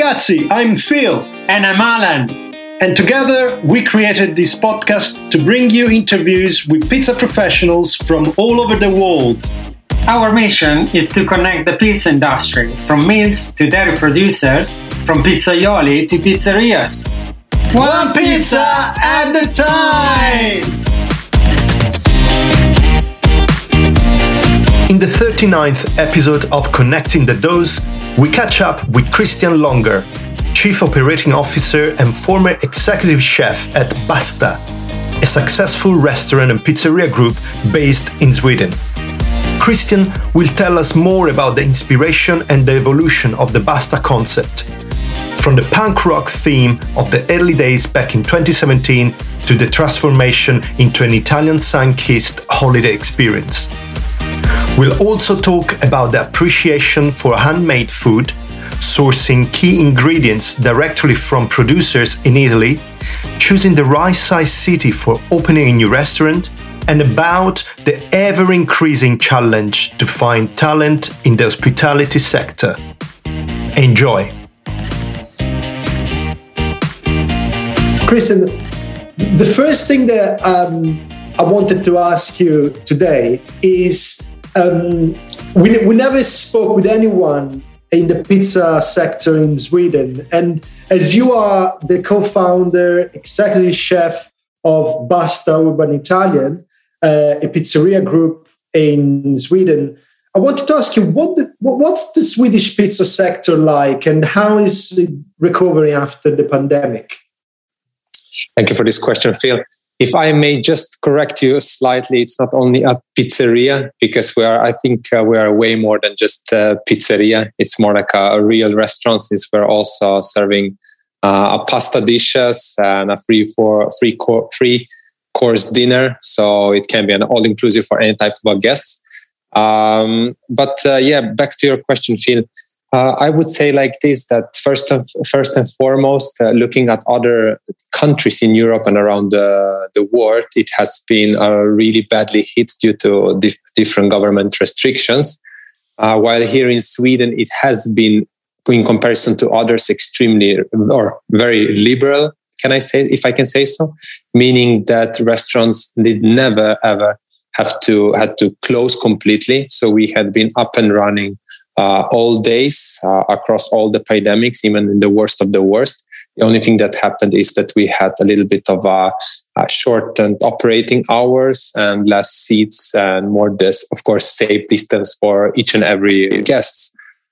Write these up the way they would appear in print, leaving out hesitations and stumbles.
ragazzi, I'm Phil. And I'm Alan. And together we created this podcast to bring you interviews with pizza professionals from all over the world. Our mission is to connect the pizza industry, from mills to dairy producers, from pizzaioli to pizzerias. One pizza at a time! In the 39th episode of Connecting the Doors, we catch up with Christian Longer, Chief Operating Officer and former Executive Chef at Basta, a successful restaurant and pizzeria group based in Sweden. Christian will tell us more about the inspiration and the evolution of the Basta concept, from the punk rock theme of the early days back in 2017 to the transformation into an Italian sun-kissed holiday experience. We'll also talk about the appreciation for handmade food, sourcing key ingredients directly from producers in Italy, choosing the right size city for opening a new restaurant, and about the ever-increasing challenge to find talent in the hospitality sector. Enjoy! Christian, the first thing that I wanted to ask you today is we never spoke with anyone in the pizza sector in Sweden. And as you are the co-founder, executive chef of Basta Urban Italian, a pizzeria group in Sweden, I wanted to ask you, what's the Swedish pizza sector like and how is it recovering after the pandemic? Thank you for this question, Phil. If I may just correct you slightly, it's not only a pizzeria, because we are way more than just a pizzeria. It's more like a real restaurant, since we're also serving a pasta dishes and a free course dinner. So it can be an all-inclusive for any type of guests. Back to your question, Phil. I would say like this, that first and foremost, looking at other countries in Europe and around the world, it has been really badly hit due to different government restrictions. While here in Sweden, it has been, in comparison to others, extremely or very liberal, can I say, if I can say so? Meaning that restaurants did never ever had to close completely. So we had been up and running all days across all the pandemics, even in the worst of the worst. The only thing that happened is that we had a little bit of a shortened operating hours and less seats and more, of course, safe distance for each and every guest.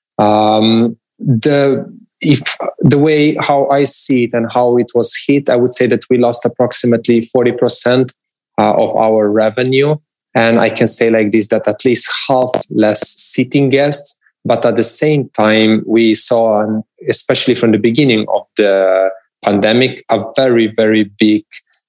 The way how I see it and how it was hit, I would say that we lost approximately 40% of our revenue. And I can say like this, that at least half less sitting guests. But at the same time, we saw, especially from the beginning of the pandemic, a very, very big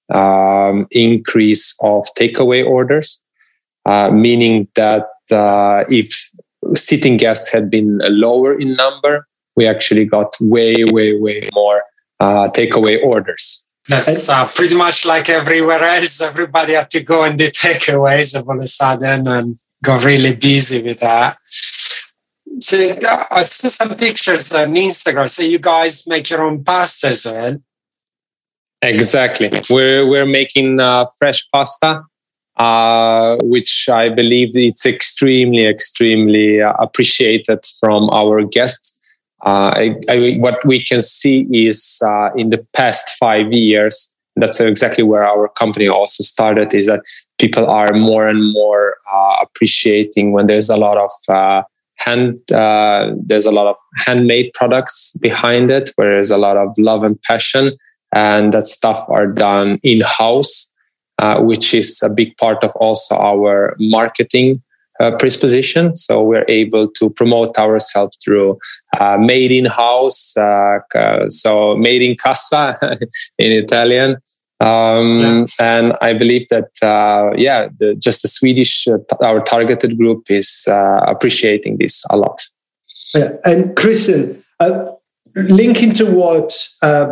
increase of takeaway orders, meaning that if sitting guests had been lower in number, we actually got way, way, way more takeaway orders. That's pretty much like everywhere else. Everybody had to go and do takeaways all of a sudden and got really busy with that. So I saw some pictures on Instagram. So you guys make your own pasta as well? Exactly. We're making fresh pasta, which I believe it's extremely, extremely appreciated from our guests. What we can see is in the past 5 years, that's exactly where our company also started, is that people are more and more appreciating when there's a lot of there's a lot of handmade products behind it, where there's a lot of love and passion, and that stuff are done in-house, which is a big part of also our marketing predisposition. So we're able to promote ourselves through made in-house, so made in casa in Italian. And I believe that, just the Swedish, our targeted group is appreciating this a lot. Yeah. And Christian, linking to what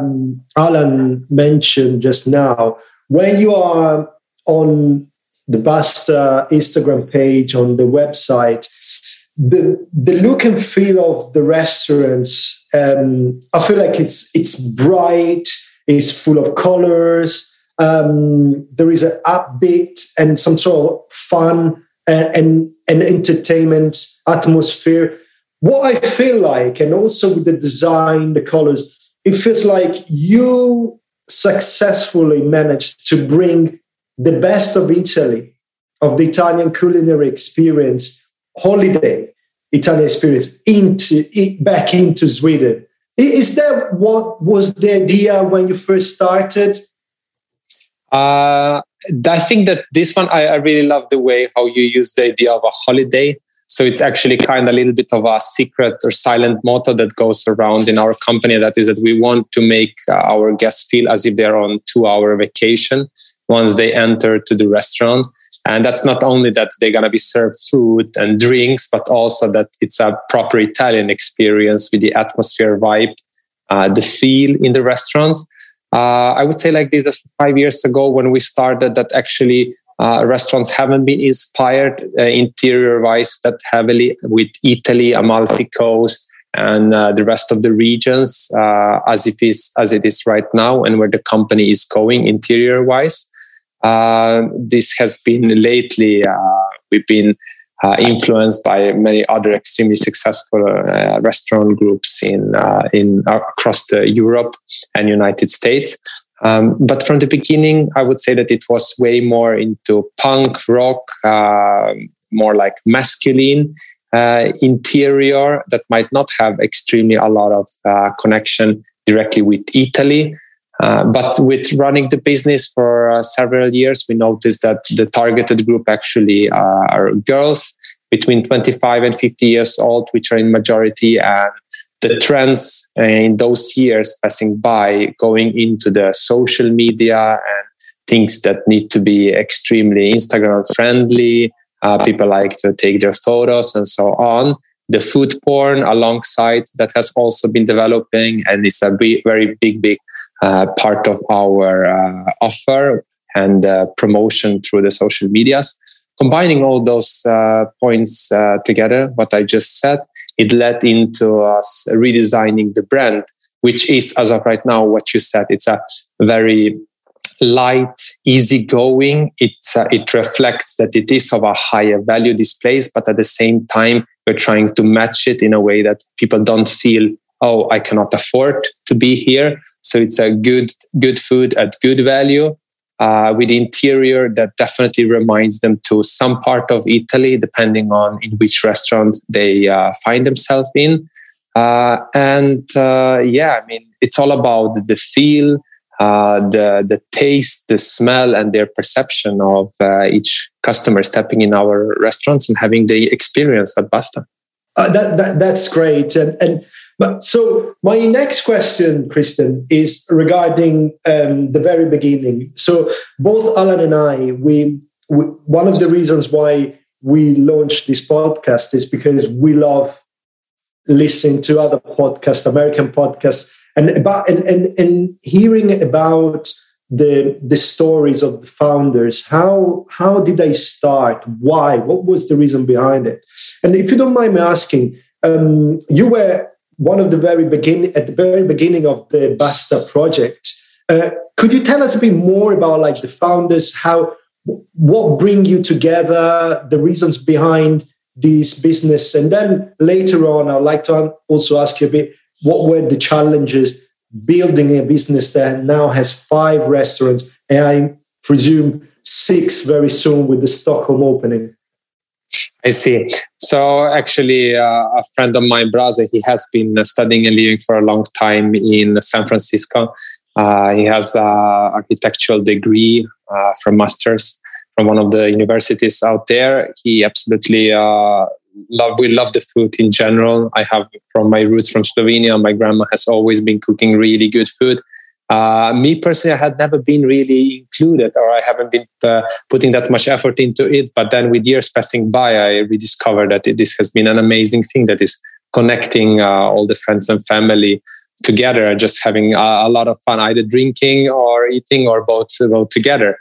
Alan mentioned just now, when you are on the Basta Instagram page, on the website, the look and feel of the restaurants I feel like it's bright, it's full of colors. There is an upbeat and some sort of fun and entertainment atmosphere. What I feel like, and also with the design, the colors, it feels like you successfully managed to bring the best of Italy, of the Italian culinary experience, holiday Italian experience, back into Sweden. Is that what was the idea when you first started? I think that this one, I really love the way how you use the idea of a holiday. So it's actually kind of a little bit of a secret or silent motto that goes around in our company. That is that we want to make our guests feel as if they're on 2-hour vacation once they enter to the restaurant. And that's not only that they're going to be served food and drinks, but also that it's a proper Italian experience with the atmosphere, vibe, the feel in the restaurants. I would say like this 5 years ago when we started, that actually restaurants haven't been inspired interior-wise that heavily with Italy, Amalfi Coast, and the rest of the regions as it is right now, and where the company is going interior-wise. This has been lately, we've been influenced by many other extremely successful restaurant groups in across Europe and United States. But from the beginning, I would say that it was way more into punk rock, more like masculine interior that might not have extremely a lot of connection directly with Italy. But with running the business for several years, we noticed that the targeted group actually are girls between 25 and 50 years old, which are in majority. And the trends in those years passing by, going into the social media and things that need to be extremely Instagram friendly. People like to take their photos and so on. The food porn alongside that has also been developing, and it's a very big part of our offer and promotion through the social medias. Combining all those points together, what I just said, it led into us redesigning the brand, which is, as of right now, what you said. It's a very light, easygoing. It reflects that it is of a higher value, this place, but at the same time, we're trying to match it in a way that people don't feel, oh, I cannot afford to be here. So it's a good food at good value with interior that definitely reminds them to some part of Italy, depending on in which restaurant they find themselves in. I mean, it's all about the feel, the taste, the smell, and their perception of each customer stepping in our restaurants and having the experience at Basta. That's great. But so my next question, Christian, is regarding the very beginning. So both Alan and I, we one of the reasons why we launched this podcast is because we love listening to other podcasts, American podcasts, and hearing about the stories of the founders. How did they start? Why? What was the reason behind it? And if you don't mind me asking, you were one of the very beginning of the Basta project. Could you tell us a bit more about like the founders? What bring you together? The reasons behind this business, and then later on, I'd like to also ask you a bit. What were the challenges building a business that now has 5 restaurants, and I presume 6 very soon with the Stockholm opening? I see. So actually, a friend of mine, brother, he has been studying and living for a long time in San Francisco. He has an architectural degree from master's from one of the universities out there. He absolutely we love the food in general. I have from my roots from Slovenia. My grandma has always been cooking really good food. Me personally, I had never been really included, or I haven't been putting that much effort into it. But then with years passing by, I rediscovered that this has been an amazing thing that is connecting all the friends and family together, just having a lot of fun, either drinking or eating or both together.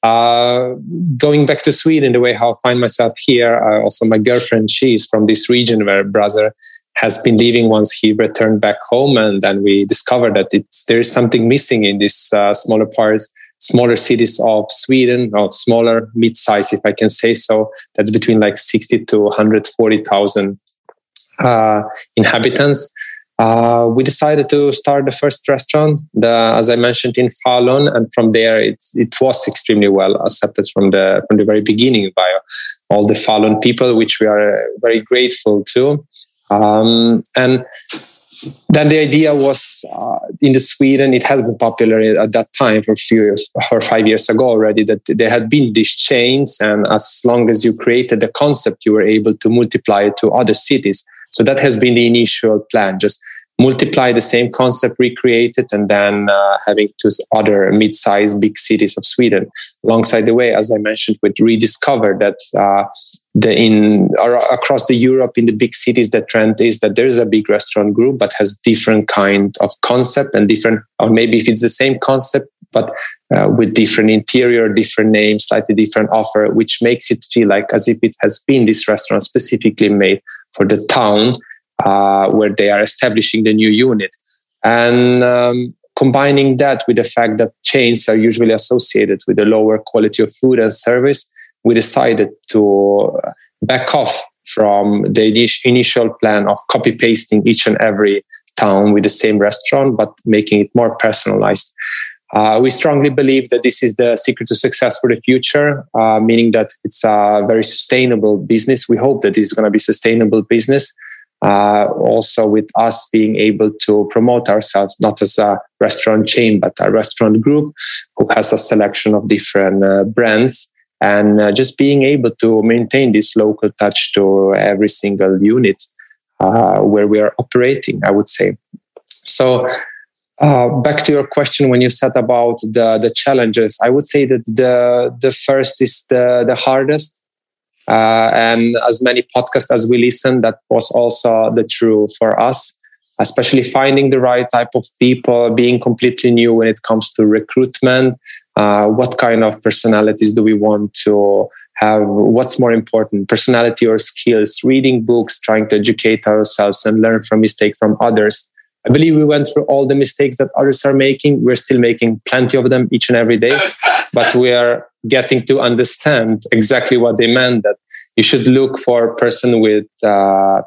Going back to Sweden, the way how I find myself here, also my girlfriend, she's from this region where brother has been leaving once he returned back home. And then we discovered that there is something missing in these smaller cities of Sweden, or smaller, mid-size, if I can say so. That's between like 60 to 140,000 inhabitants. We decided to start the first restaurant, as I mentioned, in Falun, and from there it was extremely well accepted from the very beginning by all the Falun people, which we are very grateful to. And then the idea was in Sweden, it has been popular at that time for 5 years ago already, that there had been these chains, and as long as you created the concept, you were able to multiply it to other cities. So that has been the initial plan, just multiply the same concept, recreate it, and then having to other mid-sized big cities of Sweden. Alongside the way, as I mentioned, we rediscovered that across the Europe, in the big cities, the trend is that there is a big restaurant group, but has different kind of concept and different, or maybe if it's the same concept, but with different interior, different names, slightly different offer, which makes it feel like as if it has been this restaurant specifically made for the town where they are establishing the new unit. And combining that with the fact that chains are usually associated with a lower quality of food and service, we decided to back off from the initial plan of copy-pasting each and every town with the same restaurant, but making it more personalized. We strongly believe that this is the secret to success for the future, meaning that it's a very sustainable business. We hope that this is going to be sustainable business. Also with us being able to promote ourselves, not as a restaurant chain, but a restaurant group who has a selection of different brands, and just being able to maintain this local touch to every single unit where we are operating, I would say. So back to your question, when you said about the challenges, I would say that the first is the hardest. And as many podcasts as we listen, that was also the true for us, especially finding the right type of people, being completely new when it comes to recruitment. What kind of personalities do we want to have? What's more important, personality or skills? Reading books, trying to educate ourselves and learn from mistakes from others. I believe we went through all the mistakes that others are making. We're still making plenty of them each and every day, but we are getting to understand exactly what they meant, that you should look for a person with the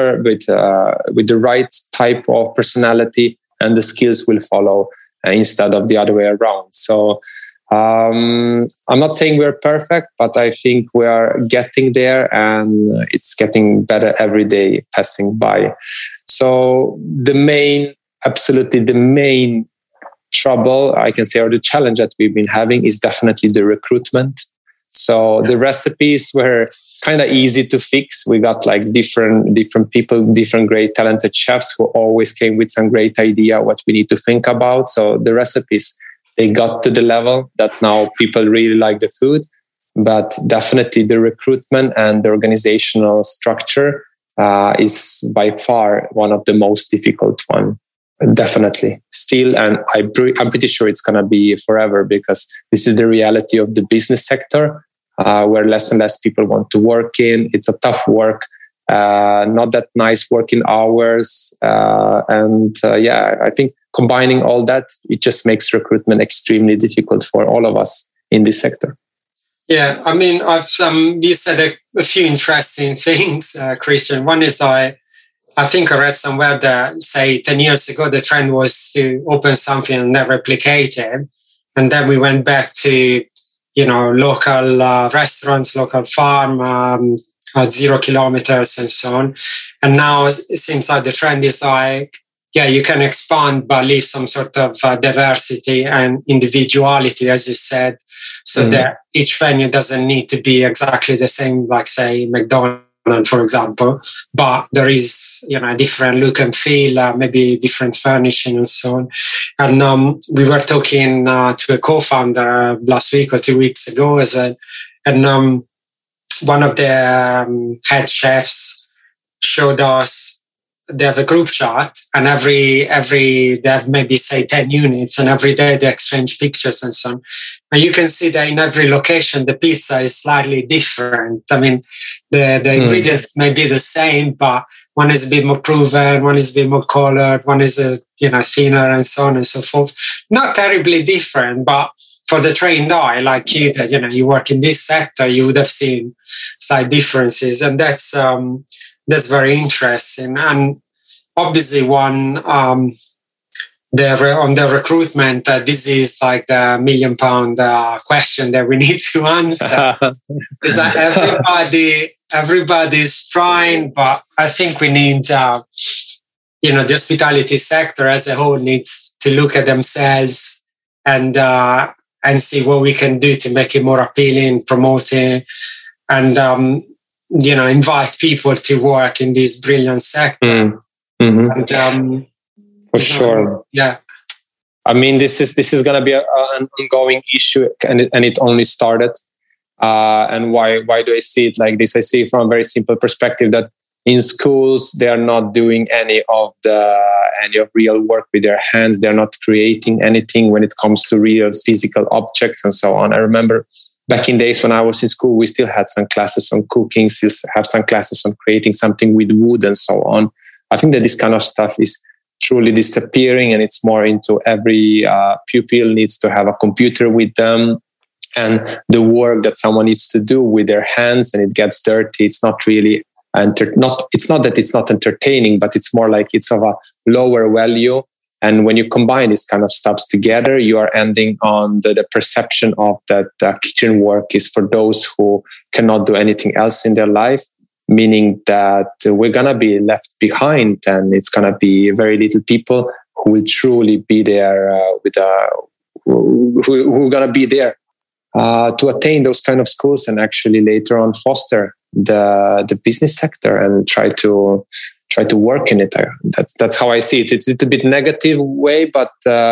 right type of personality, and the skills will follow instead of the other way around. So I'm not saying we're perfect, but I think we are getting there, and it's getting better every day passing by. So absolutely the main trouble, I can say, or the challenge that we've been having is definitely the recruitment. So the recipes were kind of easy to fix. We got like different people, different great talented chefs who always came with some great idea what we need to think about. So the recipes, they got to the level that now people really like the food. But definitely the recruitment and the organizational structure is by far one of the most difficult one. Definitely still, and I'm pretty sure it's going to be forever, because this is the reality of the business sector, where less and less people want to work in. It's a tough work, not that nice working hours, I think combining all that, it just makes recruitment extremely difficult for all of us in this sector. Yeah, I mean, you said a few interesting things, Christian. One is I think I read somewhere that, say, 10 years ago, the trend was to open something and then replicate it. And then we went back to, local restaurants, local farm, at 0 kilometers and so on. And now it seems like the trend is like, you can expand, but leave some sort of diversity and individuality, as you said, so that each venue doesn't need to be exactly the same, like, say, McDonald's, for example, but there is, a different look and feel, maybe different furnishing and so on. And we were talking to a co-founder last week or 2 weeks ago as well, and one of the head chefs showed us they have a group chat, and every they have maybe, say, 10 units, and every day they exchange pictures and so on. And you can see that in every location, the pizza is slightly different. I mean, the ingredients may be the same, but one is a bit more proven, one is a bit more colored, one is thinner, and so on and so forth. Not terribly different, but for the trained eye like you, that you work in this sector, you would have seen slight differences, and that's very interesting. And obviously, on the recruitment, this is like the £1 million question that we need to answer. Is that everybody's trying, but I think we need, the hospitality sector as a whole needs to look at themselves and see what we can do to make it more appealing, promote it, and invite people to work in this brilliant sector. Mm-hmm. And, for sure. Yeah. I mean, this is going to be an ongoing issue, and it only started. And why do I see it like this? I see it from a very simple perspective that in schools they are not doing any of real work with their hands. They're not creating anything when it comes to real physical objects and so on. I remember back in days when I was in school, we still had some classes on cooking, still have some classes on creating something with wood and so on. I think that this kind of stuff is truly disappearing, and it's more into every pupil needs to have a computer with them, and the work that someone needs to do with their hands and it gets dirty. It's not really it's not that it's not entertaining, but it's more like it's of a lower value. And when you combine these kind of stuffs together, you are ending on the perception of that kitchen work is for those who cannot do anything else in their life. Meaning that we're going to be left behind, and it's going to be very little people who will truly be there who are going to be there to attain those kind of schools and actually later on foster the business sector and try to work in it. That's how I see it. It's a bit negative way, but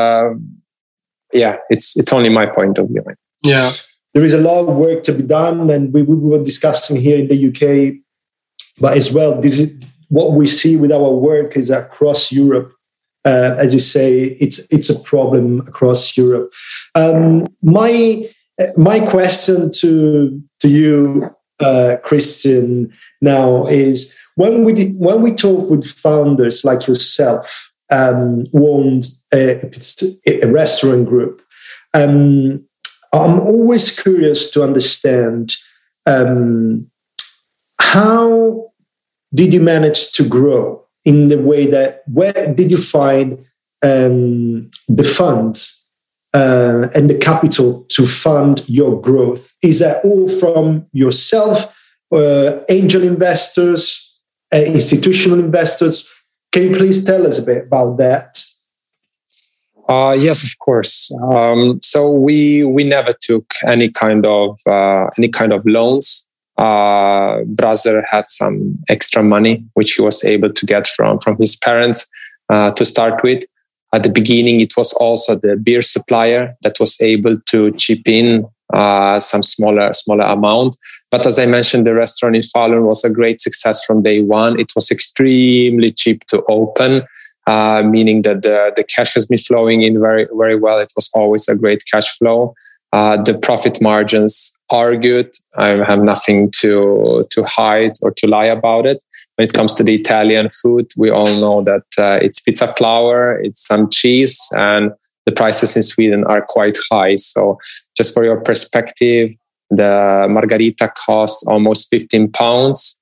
it's only my point of view. Yeah, there is a lot of work to be done, and we were discussing here in the UK. But as well, this is what we see with our work is across Europe. As you say, it's a problem across Europe. My question to you, Christian, now is when we talk with founders like yourself, who owned a restaurant group, I'm always curious to understand how did you manage to grow in the way that, where did you find the funds and the capital to fund your growth? Is that all from yourself, angel investors, institutional investors? Can you please tell us a bit about that? Yes, of course. So we never took any kind of loans. Brother had some extra money which he was able to get from his parents to start with. At the beginning, it was also the beer supplier that was able to chip in some smaller amount. But as I mentioned, the restaurant in Falun was a great success from day one. It was extremely cheap to open, meaning that the cash has been flowing in very, very well. It was always a great cash flow. The profit margins are good. I have nothing to hide or to lie about it. When it comes to the Italian food, we all know that it's pizza flour, it's some cheese, and the prices in Sweden are quite high. So just for your perspective, the margarita costs almost £15.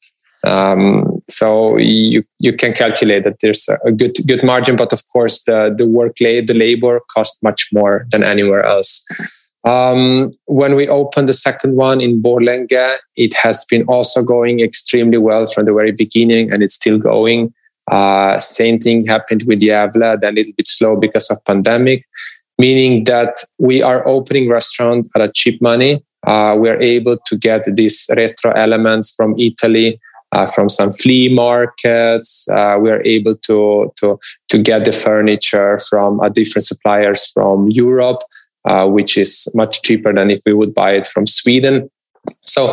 So you can calculate that there's a good margin, but of course the labor costs much more than anywhere else. When we opened the second one in Borlänge, it has been also going extremely well from the very beginning, and it's still going. Same thing happened with Gävle, then a little bit slow because of pandemic, meaning that we are opening restaurants at a cheap money. We are able to get these retro elements from Italy, from some flea markets. We are able to get the furniture from different suppliers from Europe. Which is much cheaper than if we would buy it from Sweden. So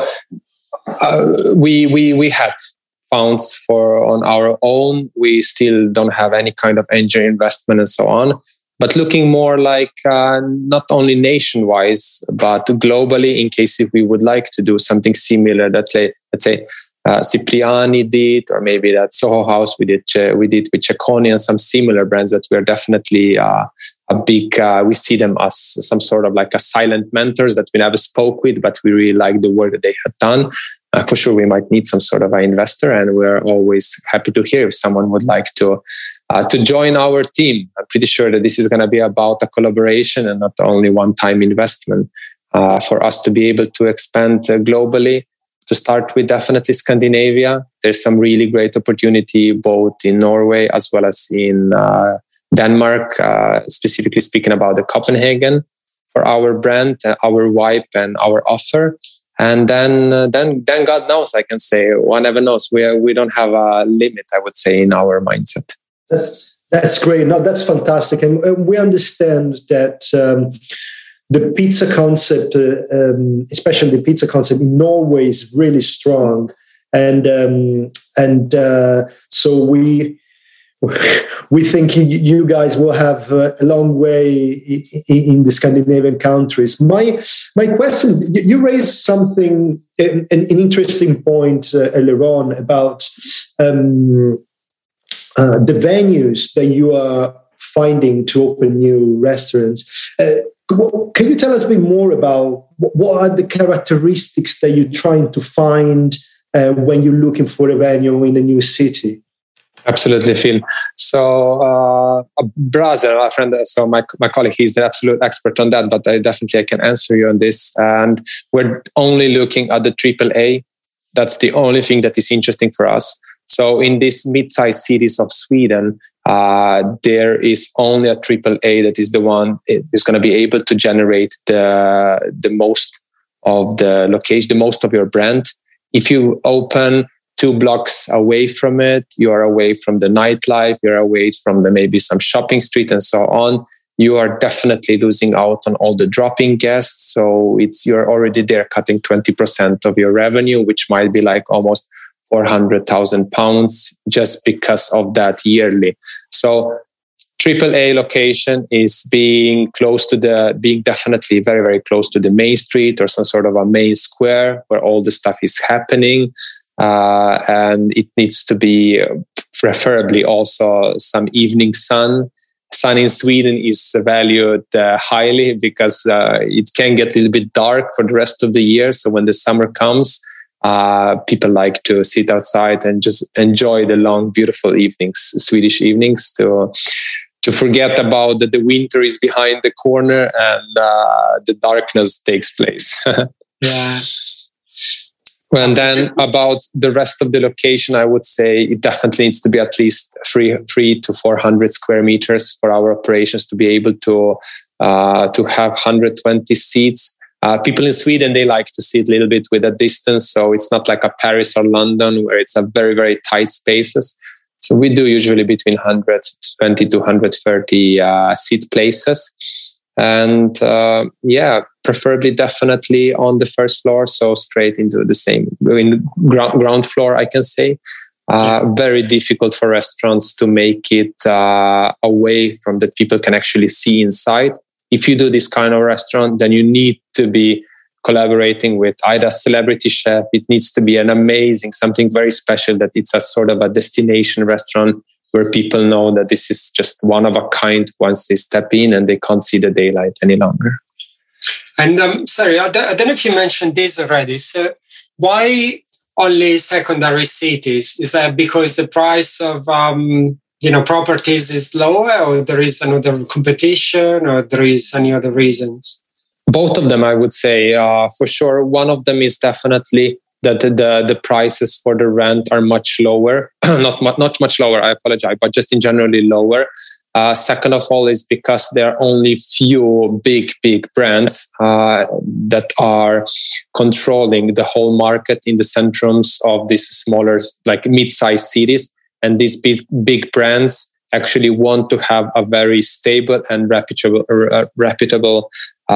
we had funds on our own. We still don't have any kind of angel investment and so on. But looking more like not only nation-wise, but globally, in case if we would like to do something similar, let's say Cipriani did, or maybe that Soho House we did with Cecconi, and some similar brands that we're definitely a big. We see them as some sort of like a silent mentors that we never spoke with, but we really like the work that they had done. For sure, we might need some sort of an investor, and we're always happy to hear if someone would like to join our team. I'm pretty sure that this is going to be about a collaboration and not only one-time investment for us to be able to expand globally. To start with, definitely Scandinavia. There's some really great opportunity both in Norway as well as in Denmark, specifically speaking about the Copenhagen for our brand, our wipe and our offer. And then God knows, I can say, one never knows. We don't have a limit, I would say, in our mindset. That's great. No, that's fantastic. And we understand that the pizza concept, especially the pizza concept in Norway, is really strong. And so we think you guys will have a long way in the Scandinavian countries. My question, you raised something, an interesting point earlier on about the venues that you are finding to open new restaurants. Can you tell us a bit more about what are the characteristics that you're trying to find when you're looking for a venue in a new city? Absolutely, Phil. So a brother, a friend, so my colleague, he's the absolute expert on that, but I can answer you on this. And we're only looking at the AAA. That's the only thing that is interesting for us. So in these mid-sized cities of Sweden, there is only a AAA that is the one is going to be able to generate the most of the location, the most of your brand. If you open 2 blocks away from it, you are away from the nightlife, you're away from maybe some shopping street and so on. You are definitely losing out on all the drop-in guests. So you're already there cutting 20% of your revenue, which might be like almost 400,000 pounds just because of that yearly. So AAA location is being definitely very, very close to the main street or some sort of a main square where all the stuff is happening. And it needs to be preferably also some evening sun. Sun in Sweden is valued highly because it can get a little bit dark for the rest of the year. So when the summer comes, people like to sit outside and just enjoy the long, beautiful evenings, Swedish evenings, to forget about that the winter is behind the corner and the darkness takes place. Yeah. And then about the rest of the location, I would say it definitely needs to be at least 300 to 400 square meters for our operations to be able to have 120 seats. People in Sweden, they like to sit a little bit with a distance. So it's not like a Paris or London where it's a very, very tight spaces. So we do usually between 120 to 130 seat places. And preferably definitely on the first floor. So straight into the ground floor, I can say. Very difficult for restaurants to make it away from that people can actually see inside. If you do this kind of restaurant, then you need to be collaborating with either a celebrity chef. It needs to be an amazing, something very special, that it's a sort of a destination restaurant where people know that this is just one of a kind once they step in and they can't see the daylight any longer. And sorry, I don't know if you mentioned this already. So why only secondary cities? Is that because the price of properties is lower, or there is another competition, or there is any other reasons? Both of them, I would say, for sure. One of them is definitely that the prices for the rent are much lower. not much lower, I apologize, but just in generally lower. Second of all is because there are only few big brands that are controlling the whole market in the centrums of these smaller, like mid-sized cities. And these big brands actually want to have a very stable and reputable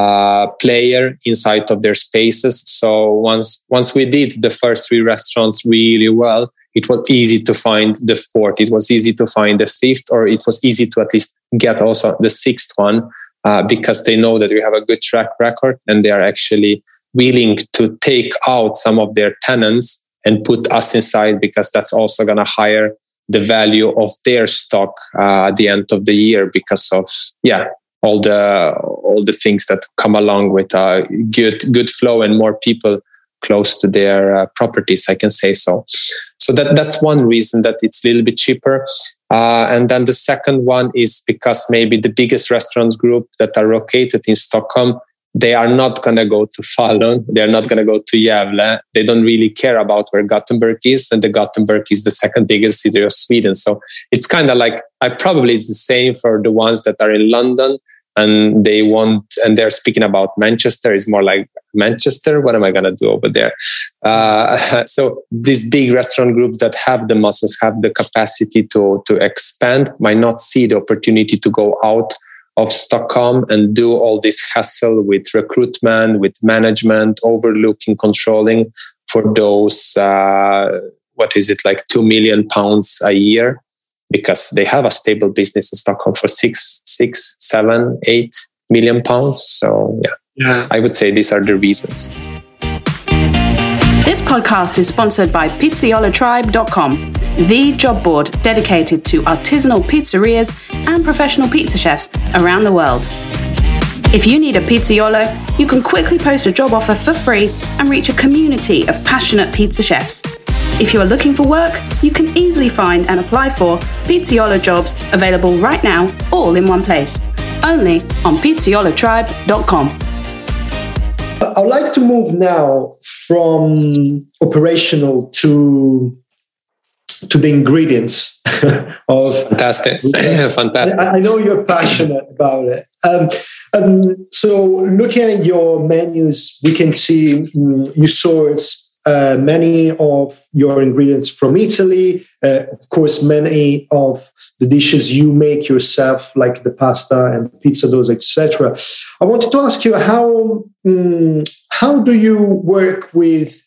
player inside of their spaces. So once we did the first 3 restaurants really well, it was easy to find the 4th. It was easy to find the 5th, or it was easy to at least get also the 6th one because they know that we have a good track record and they are actually willing to take out some of their tenants and put us inside, because that's also going to higher the value of their stock at the end of the year, because of all the things that come along with good flow and more people close to their properties, I can say so. So that's one reason that it's a little bit cheaper. And then the second one is because maybe the biggest restaurants group that are located in Stockholm, they are not going to go to Falun. They're not going to go to Gävle. They don't really care about where Gothenburg is. And the Gothenburg is the second biggest city of Sweden. So it's kind of like, it's the same for the ones that are in London and they're speaking about Manchester. It's more like, Manchester, what am I going to do over there? So these big restaurant groups that have the muscles, have the capacity to expand, might not see the opportunity to go out of Stockholm and do all this hassle with recruitment, with management, overlooking, controlling for those, like 2 million pounds a year, because they have a stable business in Stockholm for 6, 7, 8 million pounds. So yeah, I would say these are the reasons. This podcast is sponsored by PizzaiolaTribe.com, the job board dedicated to artisanal pizzerias and professional pizza chefs around the world. If you need a pizzaiolo, you can quickly post a job offer for free and reach a community of passionate pizza chefs. If you are looking for work, you can easily find and apply for Pizzaiolo jobs available right now, all in one place. Only on PizzaiolaTribe.com. I'd like to move now from operational to the ingredients of... Fantastic. Fantastic. I know you're passionate about it. So looking at your menus, we can see you source many of your ingredients from Italy. Of course, many of the dishes you make yourself, like the pasta and pizza dough, etc. I wanted to ask you how do you work with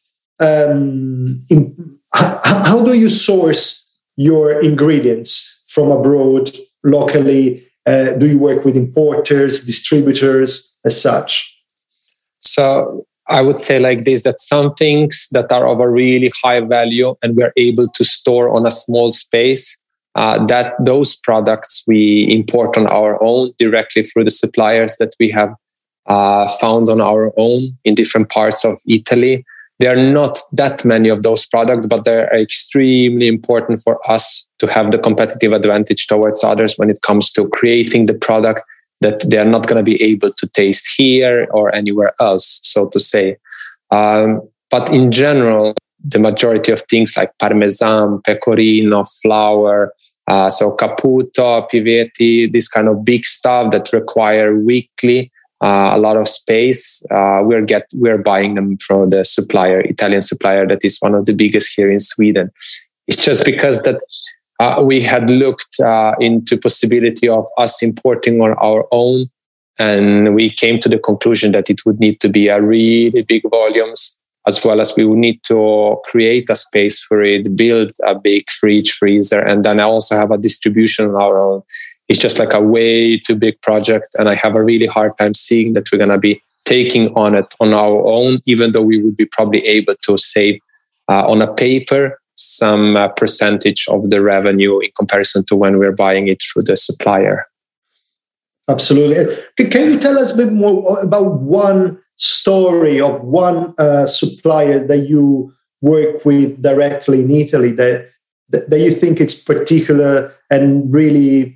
how do you source your ingredients from abroad locally? Do you work with importers, distributors, as such? So I would say like this, that some things that are of a really high value and we're able to store on a small space, that those products we import on our own directly through the suppliers that we have found on our own in different parts of Italy. There are not that many of those products, but they're extremely important for us to have the competitive advantage towards others when it comes to creating the product that they're not going to be able to taste here or anywhere else, so to say. But in general, the majority of things like Parmesan, Pecorino, flour, so Caputo, Pivetti, this kind of big stuff that require weekly a lot of space, we're buying them from the supplier, Italian supplier, that is one of the biggest here in Sweden. It's just because that we had looked into possibility of us importing on our own, and we came to the conclusion that it would need to be a really big volumes, as well as we would need to create a space for it, build a big fridge, freezer, and then also have a distribution on our own. It's just like a way too big project, and I have a really hard time seeing that we're going to be taking on it on our own, even though we would be probably able to save on a paper some percentage of the revenue in comparison to when we're buying it through the supplier. Absolutely. Can you tell us a bit more about one story of one supplier that you work with directly in Italy that you think it's particular and really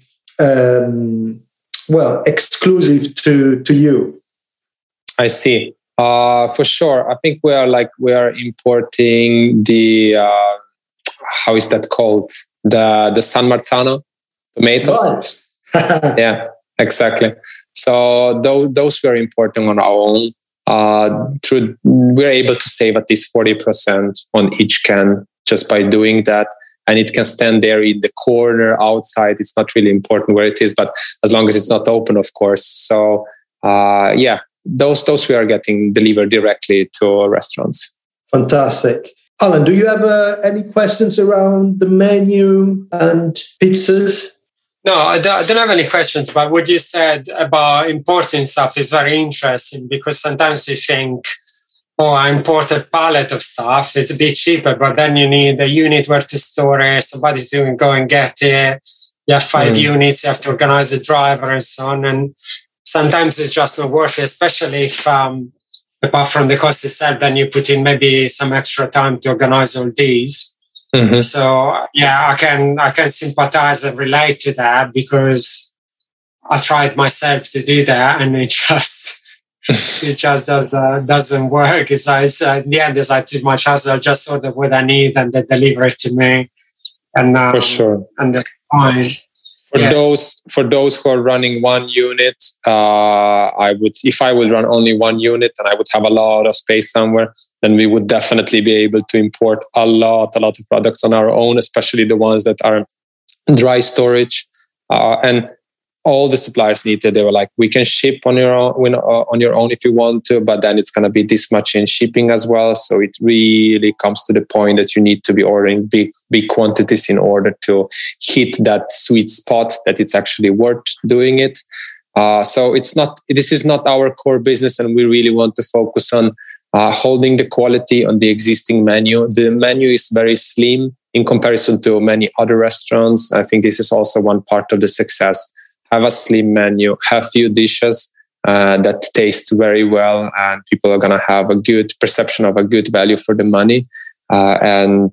exclusive to you? I see. For sure. I think we are importing the how is that called? The San Marzano tomatoes. Right. Yeah, exactly. So those we're importing on our own. We're able to save at least 40% on each can just by doing that. And it can stand there in the corner outside. It's not really important where it is, but as long as it's not open, of course. So those we are getting delivered directly to restaurants. Fantastic. Alan, do you have any questions around the menu and pizzas? No, I don't have any questions, but what you said about importing stuff is very interesting, because sometimes you think or I import a pallet of stuff. It's a bit cheaper, but then you need a unit where to store it. Somebody's going to go and get it. You have 5 units. You have to organize the driver and so on. And sometimes it's just not worth it, especially if, apart from the cost itself, then you put in maybe some extra time to organize all these. Mm-hmm. So yeah, I can sympathize and relate to that, because I tried myself to do that, and it just doesn't work. It's like, in the end, it's like too much hassle. I just order what I need and they deliver it to me. And for sure. And that's fine. For those who are running one unit, if I would run only one unit and I would have a lot of space somewhere, then we would definitely be able to import a lot of products on our own, especially the ones that are dry storage. And all the suppliers needed. They were like, we can ship on your own if you want to, but then it's going to be this much in shipping as well. So it really comes to the point that you need to be ordering big quantities in order to hit that sweet spot that it's actually worth doing it. So this is not our core business, and we really want to focus on holding the quality on the existing menu. The menu is very slim in comparison to many other restaurants. I think this is also one part of the success. Have a slim menu, have few dishes that taste very well, and people are going to have a good perception of a good value for the money. I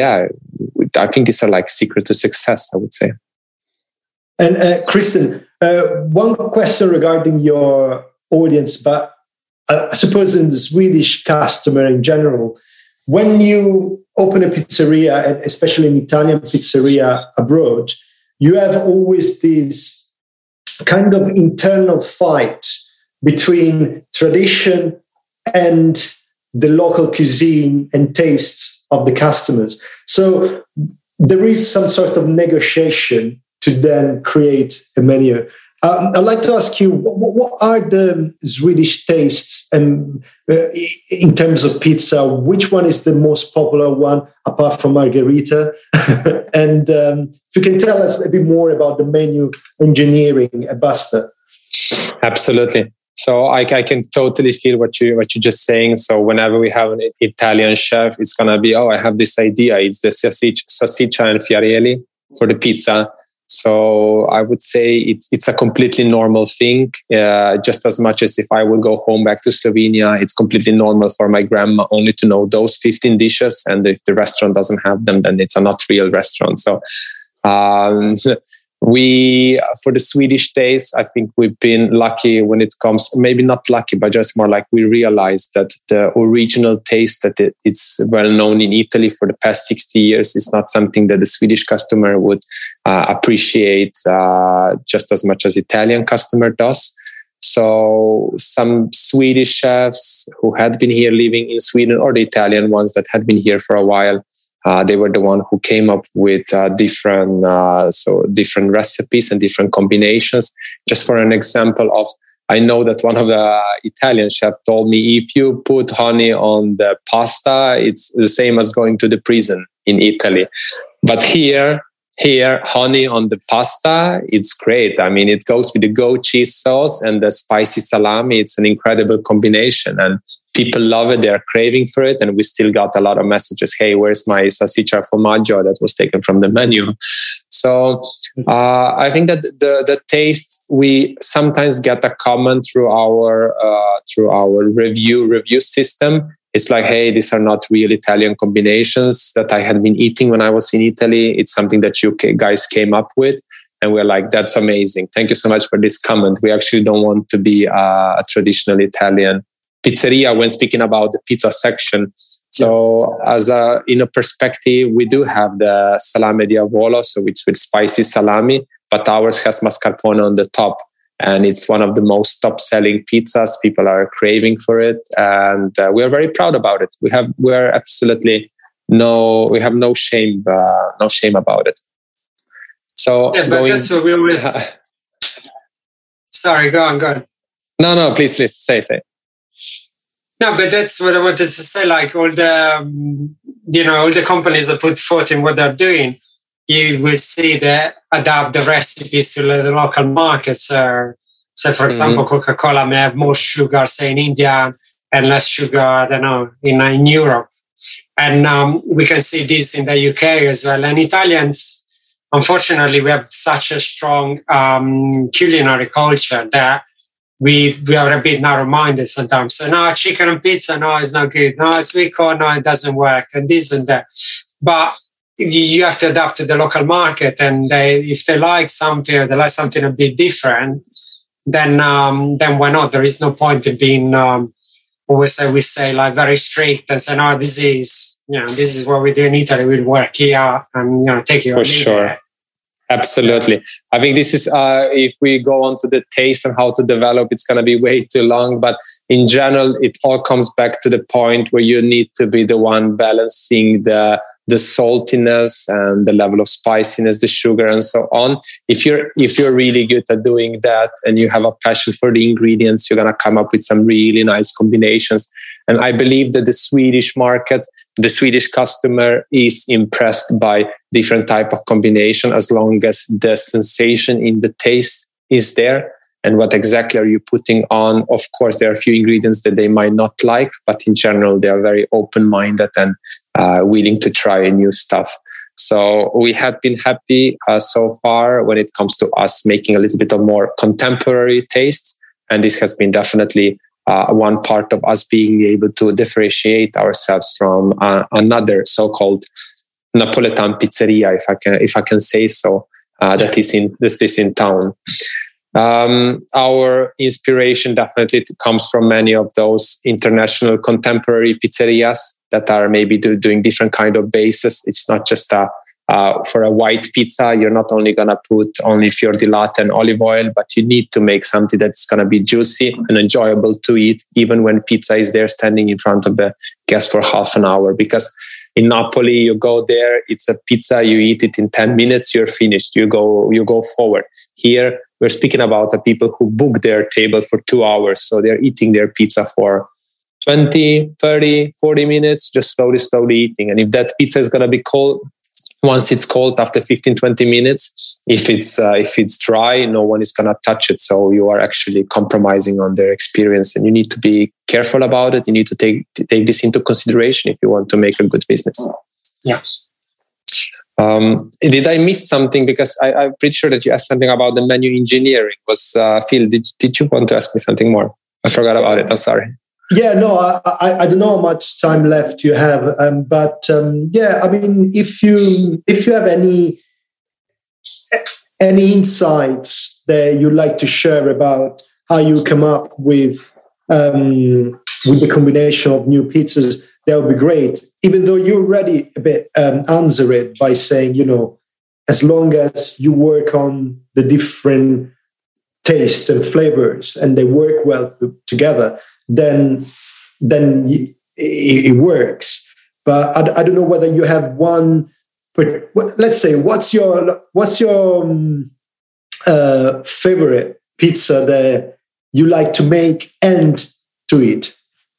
think these are like secret to success, I would say. And Christian, one question regarding your audience, but I suppose in the Swedish customer in general, when you open a pizzeria, and especially an Italian pizzeria abroad, you have always this kind of internal fight between tradition and the local cuisine and tastes of the customers. So there is some sort of negotiation to then create a menu. I'd like to ask you, what are the Swedish tastes and in terms of pizza? Which one is the most popular one, apart from margherita? And if you can tell us a bit more about the menu engineering at Basta. Absolutely. So I can totally feel what you're just saying. So whenever we have an Italian chef, it's going to be, I have this idea. It's the salsiccia and fiorelli for the pizza. So I would say it's a completely normal thing, just as much as if I would go home back to Slovenia, it's completely normal for my grandma only to know those 15 dishes. And if the restaurant doesn't have them, then it's a not real restaurant. So for the Swedish taste, I think we've been lucky when it comes, maybe not lucky, but just more like we realized that the original taste that it's well known in Italy for the past 60 years is not something that the Swedish customer would appreciate just as much as Italian customer does. So some Swedish chefs who had been here living in Sweden, or the Italian ones that had been here for a while, they were the one who came up with different recipes and different combinations. Just for an example of, I know that one of the Italian chefs told me, if you put honey on the pasta, it's the same as going to the prison in Italy. But here, honey on the pasta, it's great. I mean, it goes with the goat cheese sauce and the spicy salami. It's an incredible combination, and people love it. They're craving for it. And we still got a lot of messages. Hey, where's my salsiccia formaggio that was taken from the menu? So I think that the taste, we sometimes get a comment through our review system. It's like, hey, these are not real Italian combinations that I had been eating when I was in Italy. It's something that you guys came up with. And we're like, that's amazing. Thank you so much for this comment. We actually don't want to be a traditional Italian pizzeria when speaking about the pizza section. So in a perspective, we do have the salame diavolo, so it's with spicy salami, but ours has mascarpone on the top. And it's one of the most top-selling pizzas. People are craving for it, and we are very proud about it. We have no shame about it. So yeah, but that's what we always. Sorry, go on. No, please say. No, but that's what I wanted to say. Like all the companies that put forth in what they're doing, you will see that adapt the recipes to the local markets. So, for example, Coca-Cola may have more sugar, say in India, and less sugar, I don't know, in Europe. And we can see this in the UK as well. And Italians, unfortunately, we have such a strong culinary culture that we are a bit narrow-minded sometimes. So, no, chicken and pizza, no, it's not good. No, sweet corn, no, it doesn't work. And this and that. But you have to adapt to the local market. And if they like something, or they like something a bit different, then why not? There is no point in being we say like very strict and say, no, this is what we do in Italy. We'll work here and take it for sure. Absolutely. I think this is, if we go on to the taste and how to develop, it's going to be way too long. But in general, it all comes back to the point where you need to be the one balancing the saltiness and the level of spiciness, the sugar and so on. If you're really good at doing that and you have a passion for the ingredients, you're going to come up with some really nice combinations. And I believe that the Swedish market, the Swedish customer is impressed by different type of combination as long as the sensation in the taste is there. And what exactly are you putting on? Of course, there are a few ingredients that they might not like, but in general, they are very open-minded and willing to try new stuff. So we have been happy so far when it comes to us making a little bit of more contemporary tastes. And this has been definitely one part of us being able to differentiate ourselves from another so-called Napoletan pizzeria, if I can say so, that is in town. Our inspiration definitely comes from many of those international contemporary pizzerias that are maybe doing different kind of bases. It's not just for a white pizza, you're not only going to put only fior di latte and olive oil, but you need to make something that's going to be juicy and enjoyable to eat, even when pizza is there standing in front of the guest for half an hour. Because in Napoli, you go there, it's a pizza, you eat it in 10 minutes, you're finished, you go forward. Here, we're speaking about the people who book their table for 2 hours. So they're eating their pizza for 20, 30, 40 minutes, just slowly eating. And if that pizza is going to be cold, once it's cold after 15, 20 minutes, if it's dry, no one is going to touch it. So you are actually compromising on their experience, and you need to be careful about it. You need to take this into consideration if you want to make a good business. Yeah. Did I miss something? Because I'm pretty sure that you asked something about the menu engineering. Was Phil? Did you want to ask me something more? I forgot about it. I'm sorry. Yeah, no, I don't know how much time left you have, but yeah, I mean, if you have any insights that you'd like to share about how you come up with the combination of new pizzas, that would be great. Even though you already a bit answer it by saying, as long as you work on the different tastes and flavors and they work well together, then it works. But I don't know whether you have one. But let's say, what's your favorite pizza that you like to make and to eat?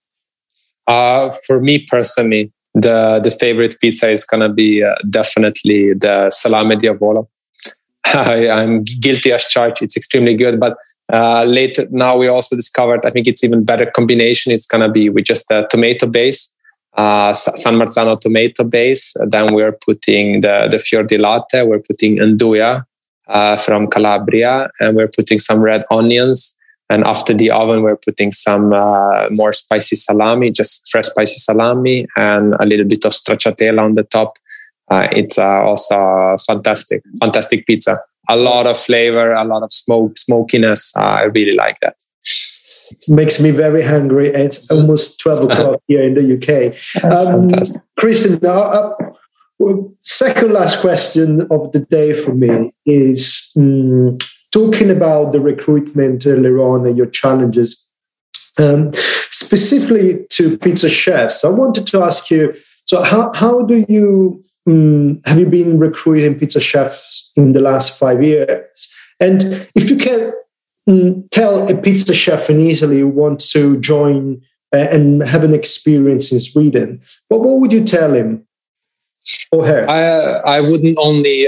For me personally, the favorite pizza is gonna be definitely the salame diavolo. I'm guilty as charged. It's extremely good, but later now we also discovered, I think it's even better combination. It's gonna be with just a tomato base, San Marzano tomato base. Then we're putting the fior di latte. We're putting andouille from Calabria, and we're putting some red onions. And after the oven, we're putting some more spicy salami, just fresh spicy salami, and a little bit of stracciatella on the top. It's also fantastic pizza. A lot of flavor, a lot of smokiness. I really like that. It makes me very hungry. It's almost 12 o'clock here in the UK. Fantastic. Christian, second last question of the day for me is talking about the recruitment earlier on and your challenges, specifically to pizza chefs. I wanted to ask you, so how do you, have you been recruiting pizza chefs in the last 5 years? And if you can tell a pizza chef in Italy who wants to join and have an experience in Sweden, what would you tell him? Or her? I wouldn't only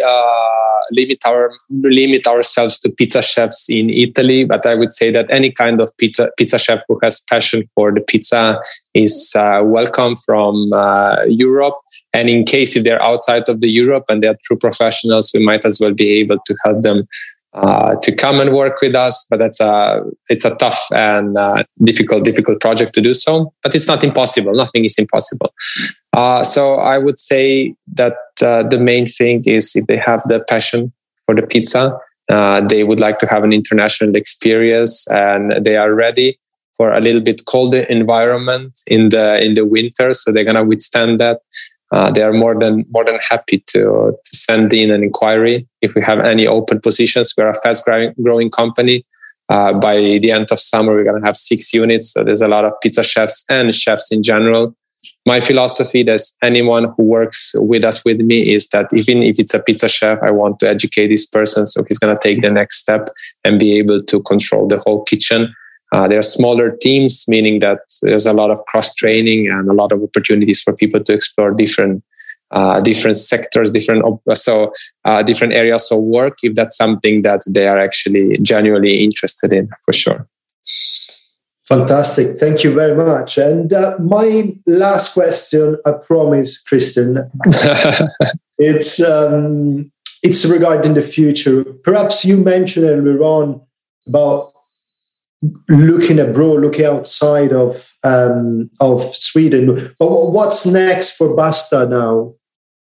limit ourselves to pizza chefs in Italy, but I would say that any kind of pizza chef who has passion for the pizza is welcome from Europe. And in case if they're outside of the Europe and they're true professionals, we might as well be able to help them to come and work with us. But it's a tough and difficult project to do so. But it's not impossible. Nothing is impossible. So I would say that the main thing is if they have the passion for the pizza, they would like to have an international experience, and they are ready for a little bit colder environment in the winter. So they're gonna withstand that. They are more than happy to send in an inquiry if we have any open positions. We're a fast growing company. By the end of summer, we're gonna have 6 units. So there's a lot of pizza chefs and chefs in general. My philosophy that anyone who works with me is that even if it's a pizza chef, I want to educate this person so he's going to take the next step and be able to control the whole kitchen. There are smaller teams, meaning that there's a lot of cross training and a lot of opportunities for people to explore different sectors, different areas of work, if that's something that they are actually genuinely interested in, for sure. Fantastic. Thank you very much. And my last question, I promise, Christian, it's regarding the future. Perhaps you mentioned earlier on about looking abroad, looking outside of Sweden. But what's next for Basta now?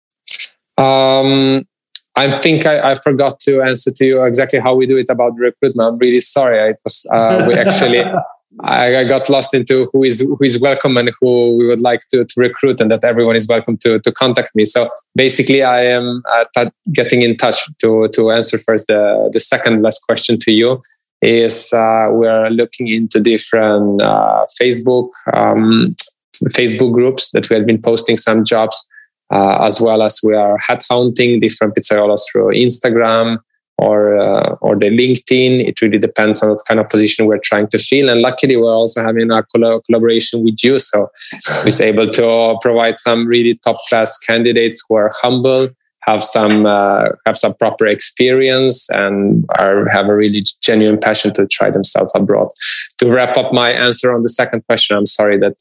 I think I forgot to answer to you exactly how we do it about recruitment. I'm really sorry. We actually... I got lost into who is welcome and who we would like to recruit, and that everyone is welcome to contact me. So basically, I am getting in touch to answer first the second last question to you. Is we're looking into different Facebook groups that we have been posting some jobs, as well as we are headhunting different pizzaiolos through Instagram or the LinkedIn. It really depends on what kind of position we're trying to fill. And luckily, we're also having a collaboration with you. So we're able to provide some really top-class candidates who are humble, have some proper experience, and have a really genuine passion to try themselves abroad. To wrap up my answer on the second question, I'm sorry that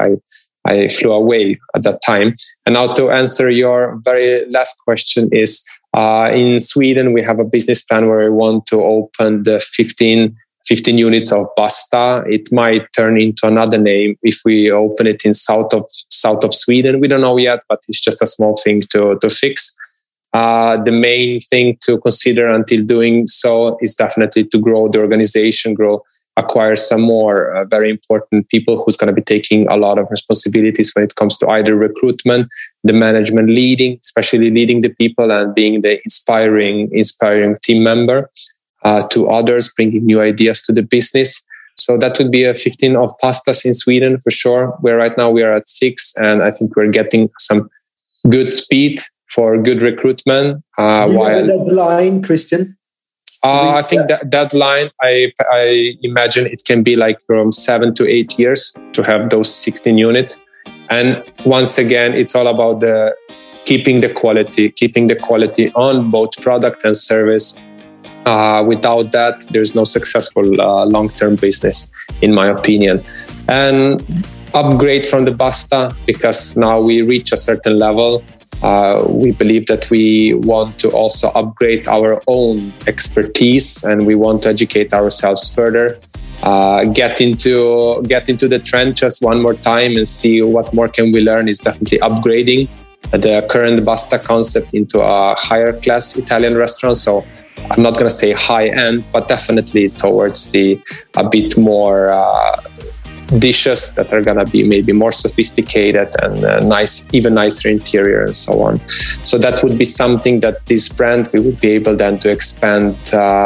I flew away at that time. And now to answer your very last question is, in Sweden, we have a business plan where we want to open the 15 units of Basta. It might turn into another name if we open it in south of Sweden. We don't know yet, but it's just a small thing to fix. The main thing to consider until doing so is definitely to grow the organization, acquire some more very important people who's going to be taking a lot of responsibilities when it comes to either recruitment, the management especially leading the people and being the inspiring team member to others, bringing new ideas to the business. So that would be a 15 of Pastas in Sweden for sure. Where right now we are at 6, and I think we're getting some good speed for good recruitment. While the deadline, Christian? I think that deadline, I imagine it can be like from 7 to 8 years to have those 16 units. And once again, it's all about keeping the quality on both product and service. Without that, there's no successful long-term business, in my opinion. And upgrade from the Basta, because now we reach a certain level. We believe that we want to also upgrade our own expertise, and we want to educate ourselves further. Get into the trenches one more time and see what more can we learn. Is definitely upgrading the current Basta concept into a higher class Italian restaurant. So I'm not going to say high end, but definitely towards a bit more dishes that are going to be maybe more sophisticated and even nicer interior and so on. So that would be something that this brand, we would be able then to expand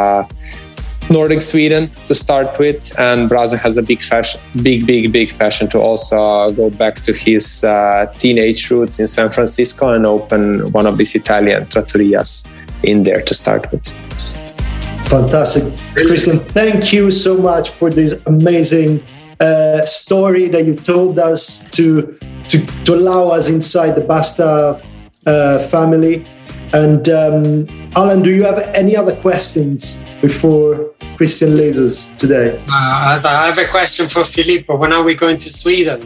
Nordic Sweden to start with. And Braza has a big passion to also go back to his teenage roots in San Francisco and open one of these Italian trattorias in there to start with. Fantastic. Christian, thank you so much for this amazing story that you told us to allow us inside the Basta family. And Alan, do you have any other questions before Christian leaves us today? I have a question for Filippo. When are we going to Sweden?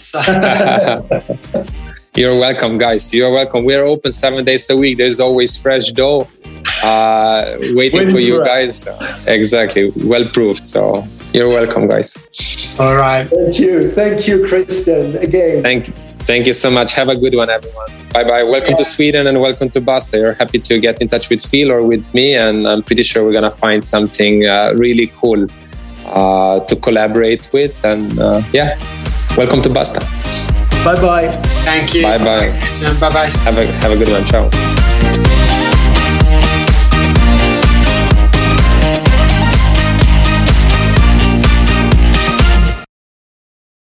You're welcome, guys. You're welcome. We're open 7 days a week. There's always fresh dough waiting for you guys. Exactly. Well proved. So you're welcome, guys. All right. Thank you, Christian, again. Thank you so much. Have a good one, everyone. Bye-bye. Welcome to Sweden and welcome to Basta. You're happy to get in touch with Phil or with me, and I'm pretty sure we're going to find something really cool to collaborate with. And welcome to Basta. Bye-bye. Thank you. Bye-bye. Bye-bye. Have a good one. Ciao.